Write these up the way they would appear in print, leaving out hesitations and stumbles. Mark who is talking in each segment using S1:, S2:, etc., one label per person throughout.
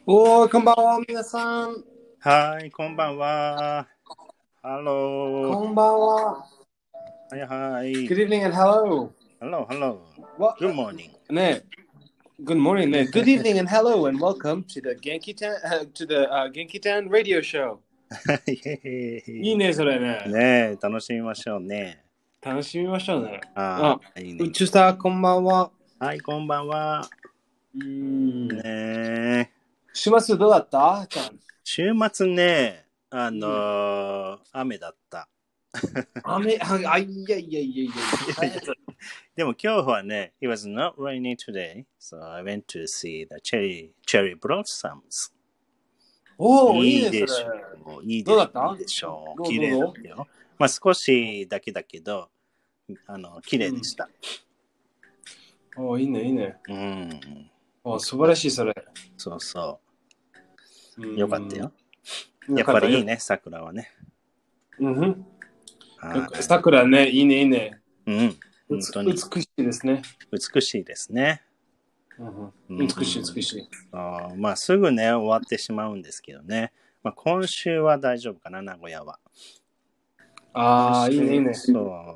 S1: おー、こんばんは、皆さん。
S2: はい、こんばんは。ハロー。
S1: こんばんは。
S2: はいはい。
S1: Good evening and hello.
S2: Hello, hello.
S1: What?
S2: Good morning.
S1: ね、Good morning, ね。Good evening and hello and welcome to the Genki Town Radio Show.
S2: イェイ
S1: いいね、それね。
S2: ねえ、楽しみましょうね。
S1: 楽しみましょうね。
S2: ああ、いいね。
S1: 宇宙さん、こんばんは。
S2: はい、こんばんは。ね
S1: ね
S2: え。
S1: 週末どうだったちゃん。
S2: 週末ね、雨だった。
S1: 雨、いやいやいやいや。
S2: でも今日はね、it was not rainy today, so I went to see the cherry blossoms.
S1: おー、いいね、それ。
S2: いいでしょう。いいで
S1: どうだった
S2: いいでしょう。
S1: どう
S2: 綺麗だ
S1: どう
S2: ったよ。まあ少しだけだけど、綺麗でした。
S1: おー、いいね、いいね。
S2: うん。
S1: おー、素晴らしい、それ。
S2: そうそう。
S1: うん
S2: よかったよ。やっ
S1: よかったよ。
S2: ぱりいいね、桜はね。
S1: うんふん。
S2: はい。
S1: 桜ね、いいね、いいね。
S2: うん。本当に
S1: 美しいですね。
S2: 美しいですね。
S1: 美しい、美しい。
S2: まあすぐね、終わってしまうんですけどね。まあ今週は大丈夫かな、名古屋は。
S1: ああ、いいね、いいね。
S2: そう。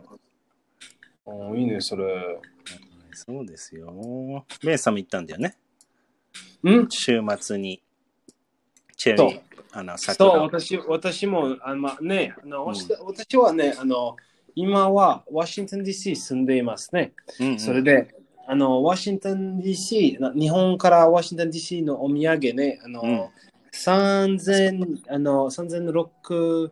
S1: いいね、それ。
S2: そうですよ。ベンさんも行ったんだよね。週末に。チェリー、桜。
S1: そう、私も、私はね、今はワシントン DC 住んでいますね。それで、ワシントン DC、日本からワシントン DC のお土産ね、3006、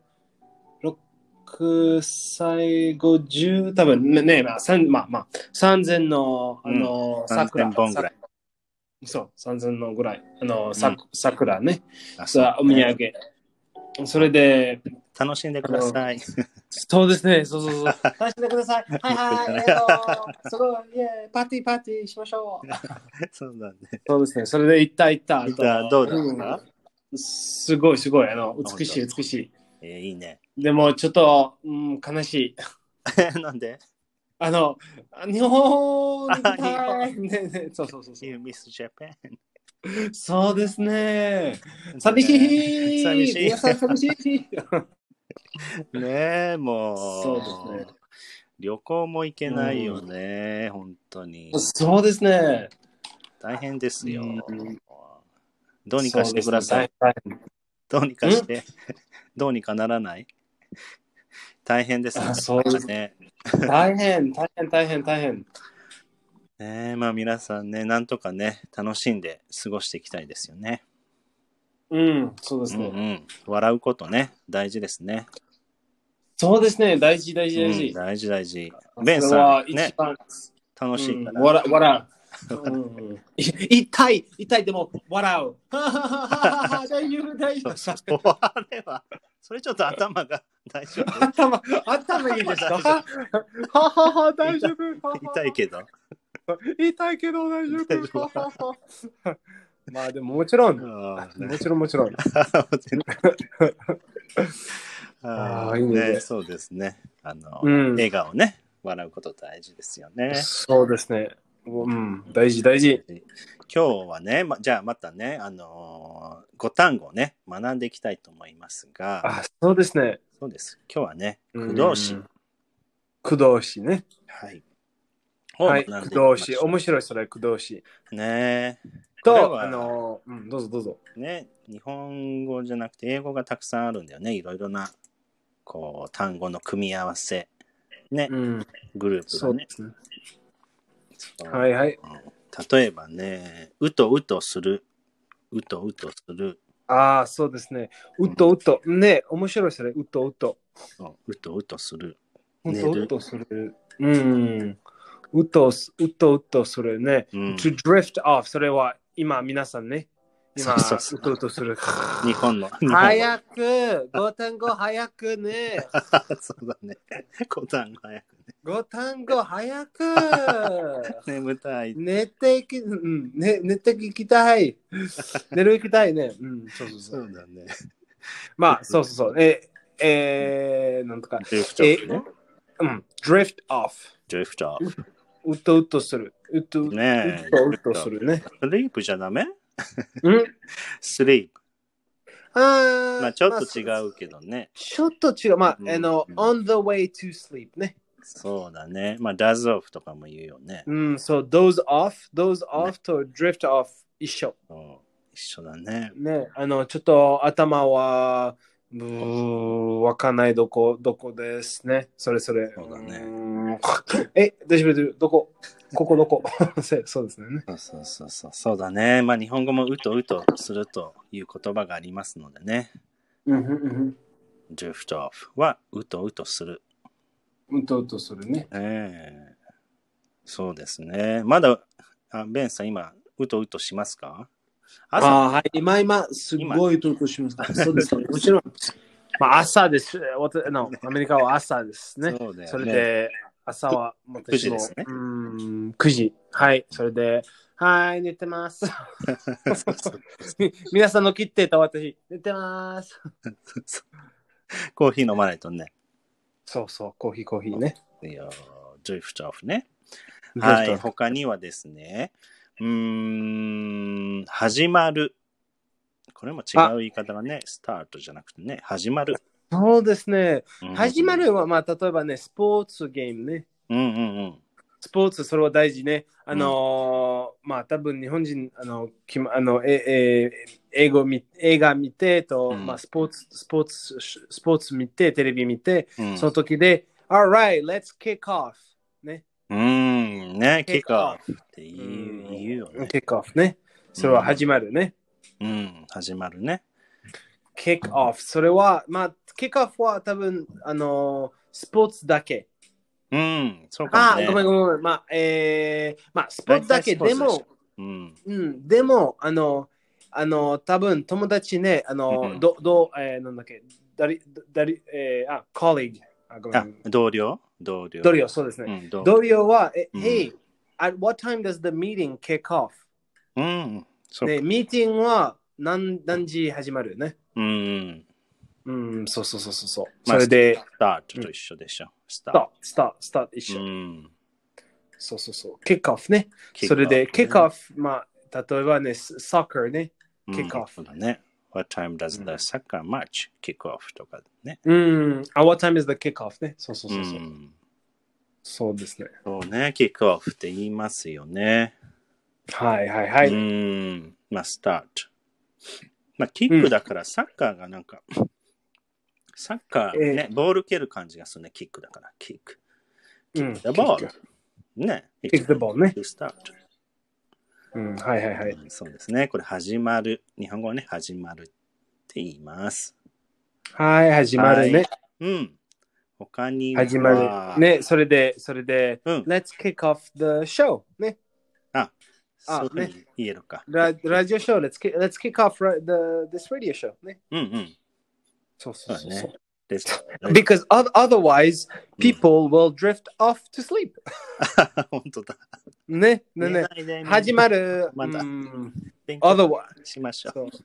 S1: 歳50、多分ね、3000の、
S2: 3000本ぐらい。
S1: そう、3000のぐらい。桜ね。お土産。それで、
S2: 楽しんでください。
S1: そうですね、そう。楽しんでください。はい、すごい、パーティーしましょう。
S2: そうだね。
S1: そうですね、それで行った。
S2: どうだった？
S1: すごい、美しい。
S2: いいね。
S1: でも、ちょっと、悲しい。
S2: なんで？
S1: 日本に行きたい。ね、そう。
S2: You miss Japan?
S1: そうですね。寂しい。皆さん寂しい。
S2: ねえ、もう。
S1: そうですね。
S2: 旅行も行けないよね、本当に。
S1: そうですね。
S2: 大変ですよ。どうにかしてください。どうにかして。どうにかならない？大変ですね。
S1: そうですね。大変。
S2: まあ皆さんね、なんとかね、楽しんで過ごしていきたいですよね。
S1: そうですね。
S2: 笑うことね、大事ですね。
S1: そうですね、大事。
S2: 大事。ベンさん、ね、楽しいから。
S1: 笑う。痛い、でも笑う。大丈夫。
S2: それちょっと頭が大丈夫。
S1: 頭いいですか？大丈夫。
S2: 痛いけど
S1: 大丈夫。まあでももちろん。もちろん。
S2: いいね。そうですね。笑顔ね、笑うこと大事ですよね。
S1: そうですね。大事。
S2: 今日はね、じゃあまたね、5単語ね、学んでいきたいと思いますが。
S1: そうですね。
S2: そうです。今日はね、駆動詞。
S1: 駆動詞ね。
S2: はい。
S1: 駆動詞。面白い、それ、駆動詞。
S2: ねえ。
S1: どうぞ。
S2: ね、日本語じゃなくて英語がたくさんあるんだよね。いろいろな、単語の組み合わせ。ね。グループがね。
S1: はい。
S2: 例えばね、うとする。
S1: そうですね。うと。ね、面白いですね。うと。
S2: うとする。
S1: うとする。うとするね。to drift off。それは今皆さんね。うとする。
S2: 日本の。
S1: 早く !5 単語早くね。
S2: そうだね。5単語早くね。
S1: 5単語早く
S2: 眠たい。
S1: 寝ていきたい。寝る行きたいね。
S2: そうだね。
S1: まあ、そう。なんとか。drift off。うとする。うとするね。
S2: スリープじゃダメ？ sleep。
S1: ま
S2: まあちょっと違うけどね。
S1: ちょっと違う。まあ、on the way to sleep ね。
S2: そうだね。まあ doze off とかも言うよね。
S1: そう、doze off と drift off 一緒。
S2: 一緒だね。
S1: ね、ちょっと頭は、わかんないどこですね。それ。そう
S2: だね。
S1: 大丈夫どこどこそうですね。
S2: そうだね。まあ日本語もうとするという言葉がありますのでね。drift off はうとする。
S1: うとするね。
S2: そうですね。まだ、ベンさん今、うとしますか？
S1: はい。今、すごいとしますか。そうですね。もちろん。まあ、朝です。アメリカは朝ですね。
S2: そうだよね。
S1: それで、朝は
S2: 9時ですね。
S1: 9時。はい。それで、はい、寝てます。皆さんの切ってた私、寝てます。
S2: コーヒー飲まないとね。
S1: そう、コーヒーね。
S2: いや、ドリフトオフね。はい。他にはですね、始まる。これも違う言い方がね、スタートじゃなくてね、始まる。
S1: そうですね。始まるは、まあ、例えばね、スポーツゲームね。スポーツ、それは大事ね。まあ、多分日本人、映画見てと、まあ、スポーツ見て、テレビ見て、その時で、Alright, let's kick off. ね。
S2: ね、kick off って言うよね。
S1: kick off ね。それは始まるね。
S2: 始まるね。
S1: kick off。それは、まあ、kick off は多分、スポーツだけ。
S2: そうかもね。
S1: ごめん。まあ、スポーツだけでも、でも、多分友達ね、なんだっけ、colleague。
S2: 同僚、
S1: そうですね。同僚は、Hey, at what time does the meeting kick off? ね、ミーティングは何時始まるね。そう。それで、
S2: スタートと一緒でしょ。
S1: スタート一緒。そう。キックオフね。それで、キックオフ、まあ、例えばね、サッカーね。キックオフ。
S2: そうだね。What time does the soccer match kick off とかね。
S1: What time is the kick off ね。そう。そうですね。
S2: そうね、キックオフって言いますよね。
S1: はい。
S2: まあ、スタート。まあ、キックだからサッカーがなんか、サッカーね、ボール蹴る感じがするね、キックだから、キック。キックthe ball。ね。
S1: キック the ball ね。
S2: スタート。
S1: はい。
S2: そうですね。これ始まる。日本語はね、始まるって言います。
S1: はい、始まるね。
S2: 他には。
S1: 始まる。ね、それで、Let's kick off the show. ね。
S2: そうね。言えるか。
S1: ラジオショー、Let's kick off this radio show. ね。そう。Because otherwise, people will drift off to sleep.
S2: 本当だ。
S1: ね。始まる。otherwise.
S2: しましょう。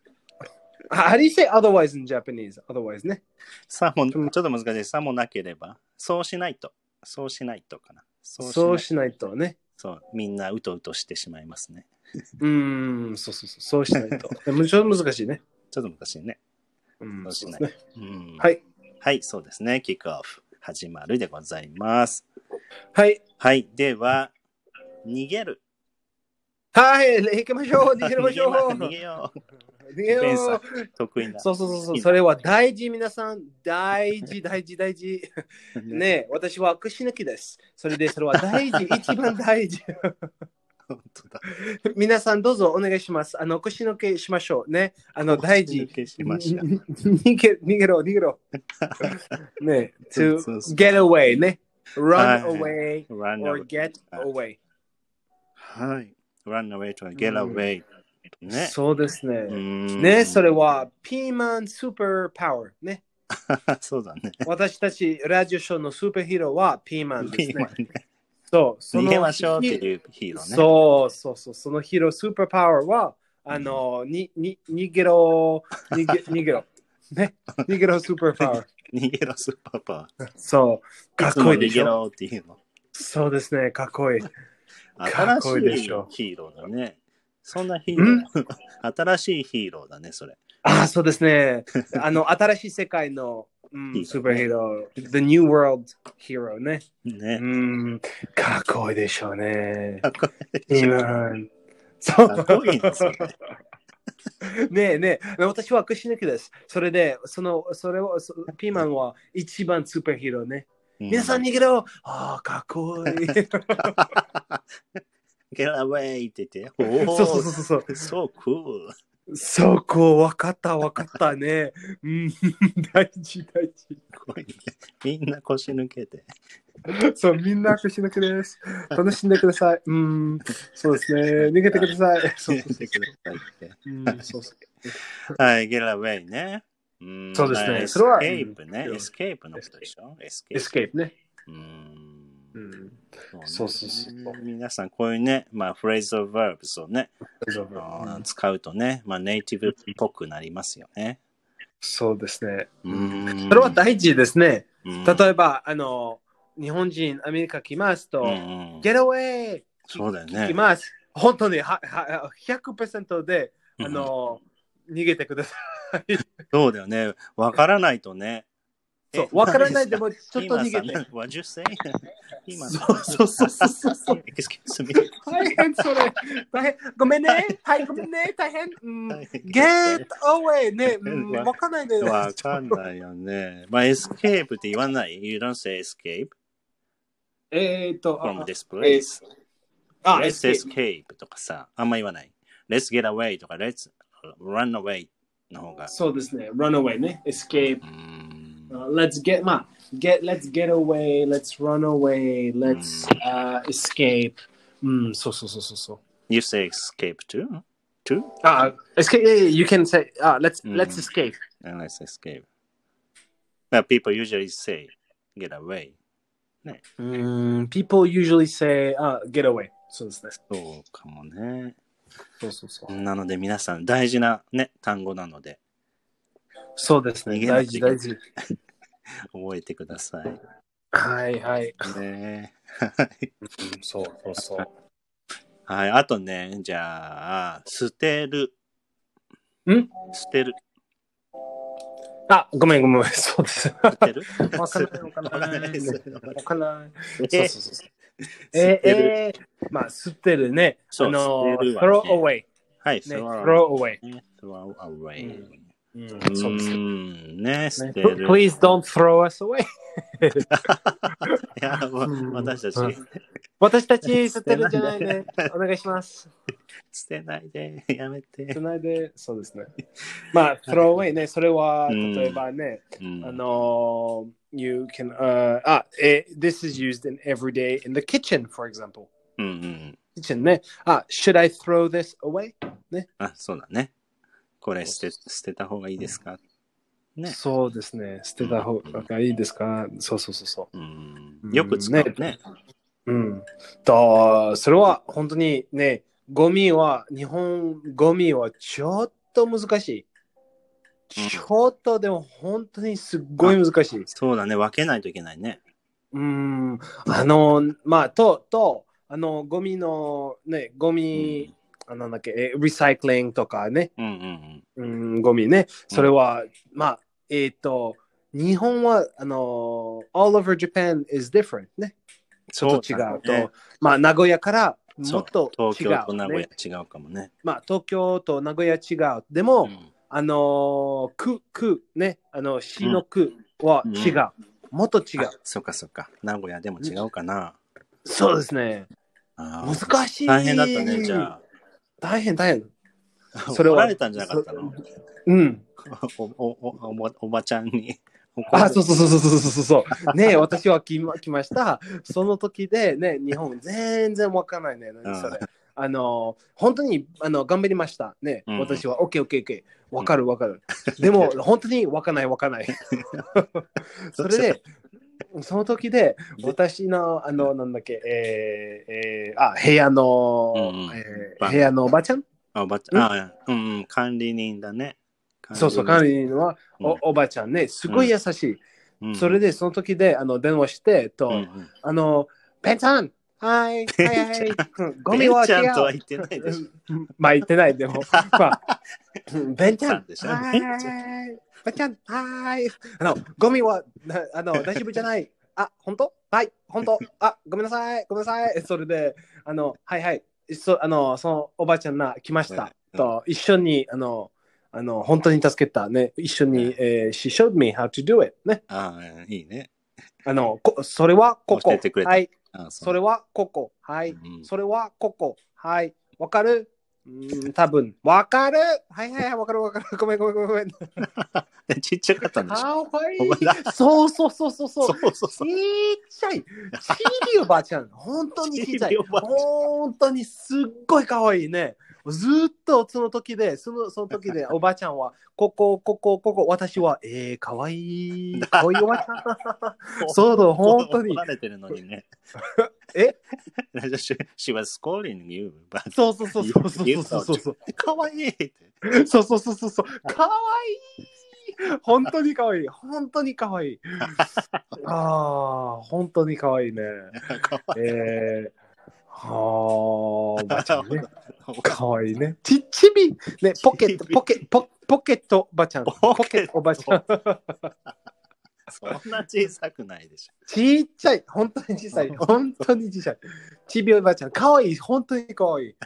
S1: How do you say otherwise in Japanese? Otherwise ね。
S2: さも、ちょっと難しい。さもなければ。そうしないとかな。
S1: そうしないとね。
S2: そう、みんなうとしてしまいますね。
S1: そうしないと。ちょっと難しいね。
S2: ちょっと難しいね。
S1: そうしない。
S2: はい。はい、そうですね。キックオフ。始まるでございます。
S1: はい。
S2: はい。では、逃げる。
S1: はい、行きましょう。逃げましょう。
S2: 逃げよう。
S1: ベンさん
S2: 得意な。
S1: そう。それは大事、皆さん。大事。ね、私は串抜きです。それは大事。一番大事。
S2: 本当だ。
S1: 皆さんどうぞお願いします。串抜けしましょう。ね。大事。逃げろ。ね。to get away ね。run away or get away。
S2: はい。run away to get away。ね、
S1: そうですね。ね、それはピーマンスーパーパワーね。
S2: そうだね。
S1: 私たちラジオショーのスーパーヒーローはピーマンですね。
S2: 逃げましょうっていうヒーローね。
S1: そう。そのヒーロースーパーパワーは、逃げろ。ね。逃げろスーパーパワー。
S2: 逃げろスーパーパワー。
S1: そう。かっこいいでしょ。
S2: 逃げろっていうの。
S1: そうですね。かっこいい。
S2: 新しいヒーローだね。 そんなヒーロー。新しいヒーローだね、それ。
S1: そうですね。新しい世界の、スーパーヒーロー。The New World Hero ね。
S2: ね。
S1: かっこいいでしょうね。
S2: かっこいい。
S1: そう。
S2: かっこいいね、それ。
S1: ねえ、私は口抜きです。それで、それを、ピーマンは一番スーパーヒーローね。皆さん逃げろ。かっこいい。
S2: Get away って言って。
S1: そう。
S2: So cool.
S1: そこ、わかったね。大事。
S2: みんな腰抜けて。
S1: そう、みんな腰抜けです。楽しんでください。そうですね。逃げてください。
S2: 逃げてくださいって。
S1: そう。
S2: はい、Get away ね。
S1: そうですね。
S2: それは。Escape ね。Escape のことでしょ
S1: ?Escape ね。そう。
S2: 皆さん、こういうね、フレーズ of verbs をね、使うとね、ネイティブっぽくなりますよね。
S1: そうですね。それは大事ですね。例えば、日本人、アメリカ来ますと、Get away!
S2: そうだよね。
S1: 来ます。本当に100% で、逃げてください。
S2: そうだよね。わからないとね。
S1: そう、わからないでもちょっと逃げて。
S2: What you say?
S1: そう。
S2: Excuse me.
S1: 大変それ。ごめんね。ごめんね。大変。Get away! ね。わかんないね。
S2: わかんないよね。escape って言わない ?You don't say escape? From this place. Let's escape とかさ、あんま言わない。Let's get away とか Let's run away の方が。
S1: そうですね。run away ね。escape. Let's get away. Let's run away. Let's escape. そう。
S2: You say escape too?
S1: Escape. You can say let's escape.
S2: Let's escape. But people usually say get away. ね。
S1: People usually say get away. そうですね。
S2: そうかもね。
S1: そう。
S2: なので皆さん大事なね単語なので。
S1: そうですね。大事。
S2: 覚えてください。
S1: はい。
S2: ね。
S1: そう。
S2: はい。あとね、じゃあ捨てる。捨てる。
S1: ごめん。そうです。
S2: 捨てる？
S1: わかんない。そう。捨てるね。throw away。
S2: はい、
S1: throw away。そうです
S2: ね。捨てる。
S1: Please don't throw us away。
S2: いや、
S1: 私たち捨てるじゃないで。お願いします。
S2: 捨てないで、やめて。
S1: 捨てないで、そうですね。throw away ね、それは、例えばね、you can, this is used in every day in the kitchen, for example. kitchen ね。should I throw this away? ね。
S2: そうだね。これ捨てた方がいいですか？ね。
S1: そうですね。捨てた方がいいですか？そう。
S2: よく使うね。
S1: それは本当にね、日本ゴミはちょっと難しい。ちょっとでも本当にすっごい難しい。
S2: そうだね。分けないといけないね。
S1: ゴミのね、なんだっけ、リサイクリングとかね、ゴミね、それは、日本はall over Japan is different ね。ちょっと違うと、名古屋からもっと違う、ね。
S2: 東京と名古屋違うかもね。
S1: 東京と名古屋違う。でも、区ね、市の区は違う。もっと違う。
S2: そっか。名古屋でも違うかな。
S1: そうですね。難しい。
S2: 大変だったね、じゃあ。
S1: 大変。
S2: それは。怒られたんじゃなかったの？おばちゃんに。
S1: そうね、私は来ました。その時でね、日本全然わかんないね。それ。本当に頑張りましたね。私は OK。わかる。でも本当にわかんない。それで、その時で私のなんだっけ、部屋のおばちゃん？
S2: 管理人だね。
S1: そう、管理人はおばちゃんね、すごい優しい。それでその時で電話してと、ペンさん、 はい、はい、はい。ゴミは違う。
S2: ベンちゃんとは言ってないでしょ。
S1: まあ言ってない、でも。まあ、ベンちゃん。
S2: でしょ。
S1: はい。ベンちゃん、はい。ゴミは、大丈夫じゃない。あ、本当はい、本当。あ、ごめんなさい、ごめんなさい。それで、はいはい。そのおばあちゃんが来ました。と、一緒に、本当に助けたね。一緒に、she showed me how to do it. ね。
S2: ああ、いいね。
S1: それはここ。
S2: 教えてくれた。
S1: はい。
S2: あ
S1: それはここ。はい。
S2: うん
S1: それはここ。はい。わかる多分。わかるはいはいはい、わかるわかる。ごめんごめんごめんごめん。
S2: ちっちゃかったんでしょ。
S1: かわいい。そうそうそうそうそう。
S2: そうそうそう。
S1: ちっちゃい。ちびおばあちゃん。本当にちっちゃい。本当にすっごいかわいいね。ずっとその時で、その時でおばあちゃんは、ここ、私は、かわいい。かわいいおばあちゃん。そうだ、本当に。
S2: 怒られてるのにね。
S1: え
S2: she was scolding you.
S1: そうそうそうそうそうそう。
S2: かわいいって。
S1: そうそうそうそうそう。かわいい。本当にかわいい。本当にかわいい。ああ、本当にかわいいね。おばちゃんね。かわいいね。ちび、ね、ポケットおばちゃん。ポケットおばちゃん。
S2: そんな小さくないでしょ。
S1: ちっちゃい。本当に小さい。本当に小さい。ちびおばちゃん。かわいい。本当にかわいい。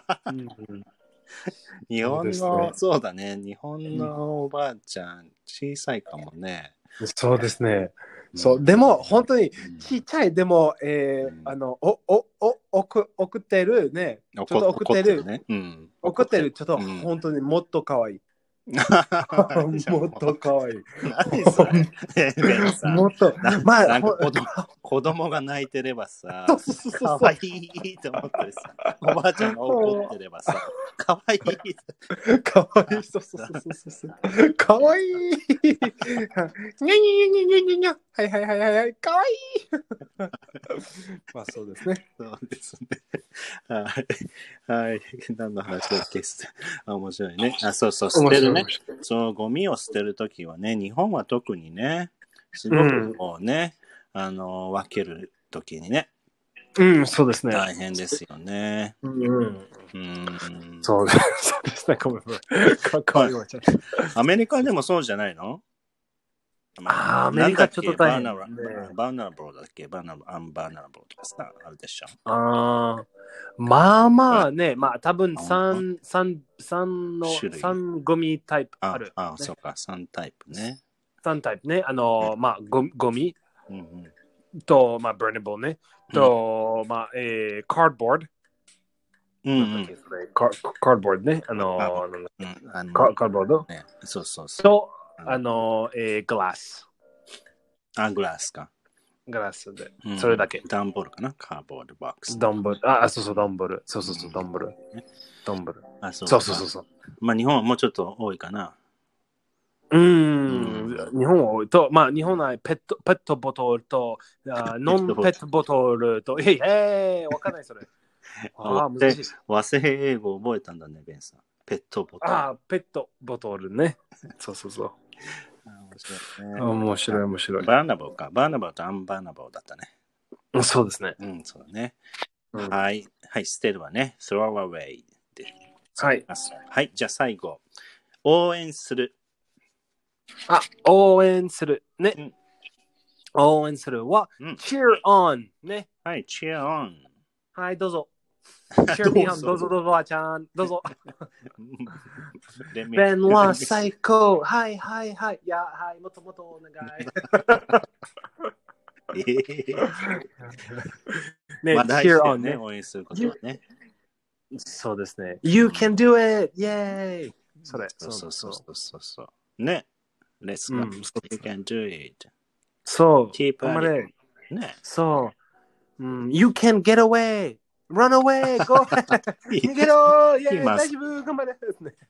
S2: 日本の、そうだね。日本のおばあちゃん、小さいかもね。
S1: そうですね。そう、でも、本当にちっちゃい、でも、送ってるね。ちょっと送ってる。送ってる、ちょっと本当にもっとかわいい。もっとかわいい。
S2: 何それ
S1: もっと、まあ、
S2: 子供が泣いてればさ、かわいいと思ってさ、おばあちゃんが怒ってればさ、かわいい。
S1: かわいい。そう。かわいい。にゃにゃ。はい。かわいい。まあそうですね。
S2: そうですね。はい。何の話だっけ面白いね。そう、捨てるね。そう、ゴミを捨てるときはね、日本は特にね、すごくこうね、分けるときにね。
S1: そうですね。
S2: 大変ですよね。
S1: そうですね。ごめん。
S2: アメリカでもそうじゃないの？
S1: アメリカちょっと大変。
S2: バーナラブルだっけ？バーナラブルとかさ、あるでしょ。
S1: まあね、まあ多分3ゴミタイプある。
S2: そうか、3タイプね。
S1: 3タイプね。まあゴミと、まあブレネブルね。と、まあ、カードボード。カードボードね。カードボード。
S2: そう。
S1: と、グラス。
S2: グラスか。
S1: グラスで。それだけ。
S2: ダンボールかな？カーボードボックス。
S1: ダンボール。そう、ダンボール。そう、ダンボール。そう。
S2: まあ日本はもうちょっと多いかな。
S1: 日本は多いと、まあ日本はペットボトルと、ノンペットボトルと、わかんないそれ。難しい。
S2: 和製英語覚えたんだね、ベンさん。ペットボトル。
S1: ペットボトルね。そう。面白い。
S2: バーナボーか。バーナボーとアンバーナボーだったね。
S1: そうですね。
S2: そうだね。はい、捨てるわね。throw away で。
S1: はい。
S2: じゃあ最後。応援する。
S1: 応援する。ね。応援するは、cheer on ね。
S2: はい、cheer on。
S1: はい、どうぞ。cheer me on どうぞ、あちゃん。どうぞ。ベンは最高。はい。いや、はい、もっとお願い。
S2: ね、cheer on ね。応援することはね。
S1: そうですね。You can do it! イェーイそれ。
S2: そう。ね。Let's go. You can do it.
S1: そう。頑張れ。
S2: ね。
S1: そう。You can get away! Run away! Go! 逃げろ！イェーイ大丈夫頑張れ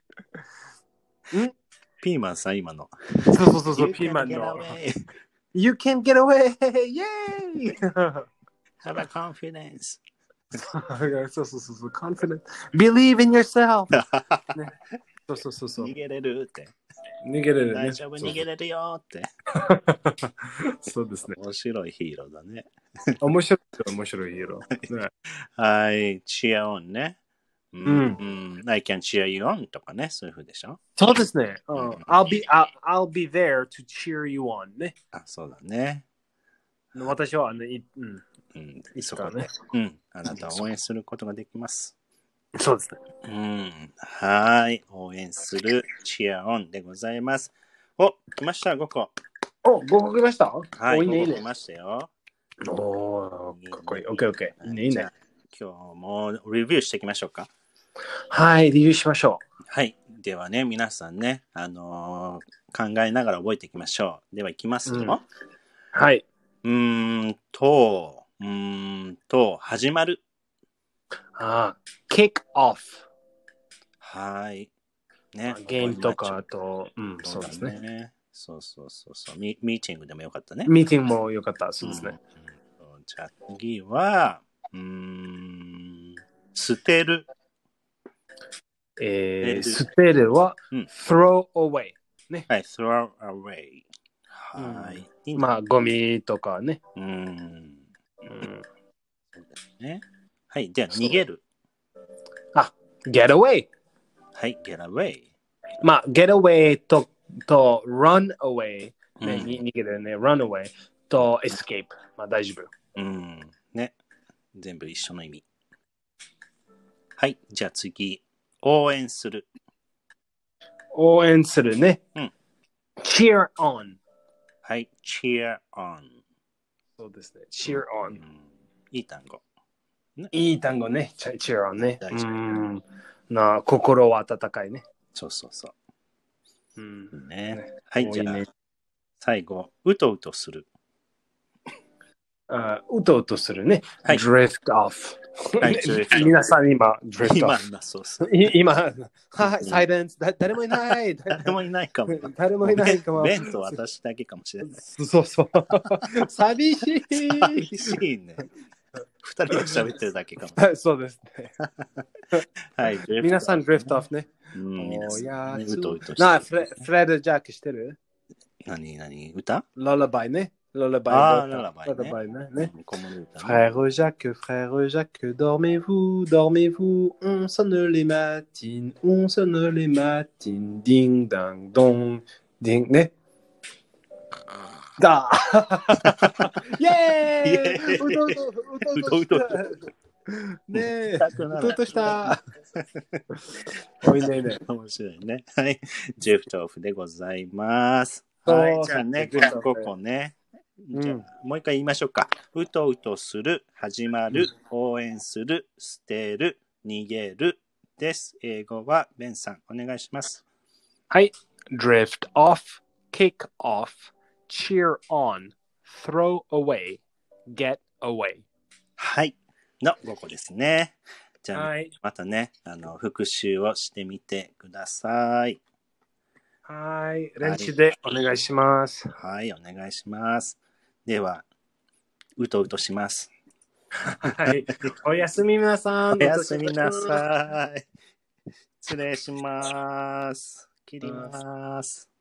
S2: ピーマンさ、今の。
S1: そう、ピーマンの。You can get away! イェーイ
S2: Have a confidence.
S1: そう、confidence. Believe in yourself. そう。
S2: 逃げれるって。
S1: 逃げれるよって。
S2: そうですね。面白いヒーローだね。
S1: 面白い、面白いよ。ね、
S2: はい、チアオンね。うん。I can cheer you on とかね、そういう風でしょ。
S1: そうですね。I'll be there to cheer you on ね。
S2: あ、そうだね。
S1: 私はね、
S2: そこで、あなたを応援することができます。
S1: そうです
S2: ね。はい、応援するチアオンでございます。お、来ました、5個。
S1: お、5個来ました？
S2: はい、5個来ましたよ。
S1: おー、かっこいい。OK。いいね、いいね。
S2: 今日もレビューしていきましょうか。
S1: はい、レビューしましょう。
S2: はい。ではね、皆さんね、考えながら覚えていきましょう。では、いきますよ。
S1: はい。
S2: 始まる。
S1: kick off。
S2: はい。ね。
S1: ゲームとか、あと、そうですね。
S2: そう。ミーティングでもよかったね。
S1: ミーティングもよかった。そうですね。
S2: じゃあ次は、捨てる。
S1: 捨てるは、throw away。ね。
S2: はい、throw away。はい。
S1: まあ、ゴミとかね。
S2: そうですね。はい、じゃあ逃げる。
S1: get away。
S2: はい、get away。
S1: まあ、get away と run away。ね、逃げるね、run away と escape。まあ、大丈夫。
S2: ね。全部一緒の意味。はい、じゃあ次。応援する。
S1: 応援するね。cheer on。
S2: はい、cheer on。
S1: そうですね。cheer on。
S2: いい単語。
S1: いい単語ね。cheer on ね。心は温かいね。
S2: そう。ね。はい、じゃあ、最後、うとうとする。
S1: うとうとするね。drift off。皆さん今、drift off。
S2: そう。
S1: 今、サイレンス、誰もいない。
S2: 誰もいないかも。
S1: 誰もいないかも。
S2: ベンと私だけかもしれない。
S1: そう。寂しい。
S2: 寂しいね。二人で喋ってるだけかも。
S1: そうですね。
S2: はい、
S1: 皆さん、drift off ね。
S2: うとうと
S1: フレッド・ジャックしてる？
S2: 何歌？
S1: ララバイね。ララバイね。Frère Jacques, dormez-vous, on sonne les matines, ding dang dong, ding ね。だイェーイうとねえ、うとうとした。おいね。
S2: 面白いね。はい。ジェフトオフでございます。はい。じゃあね、5個ね。じゃあもう一回言いましょうか。うとうとする、始まる、応援する、捨てる、逃げるです。英語はベンさん、お願いします。
S1: はい。drift off, kick off.cheer on, throw away, get away。
S2: はい。の5個ですね。じゃあ、またね、復習をしてみてください。
S1: はい。練習でお願いします。
S2: はい、お願いします。では、うとうとします。
S1: はい。おやすみなさ
S2: い。おやすみなさい。失礼します。切ります。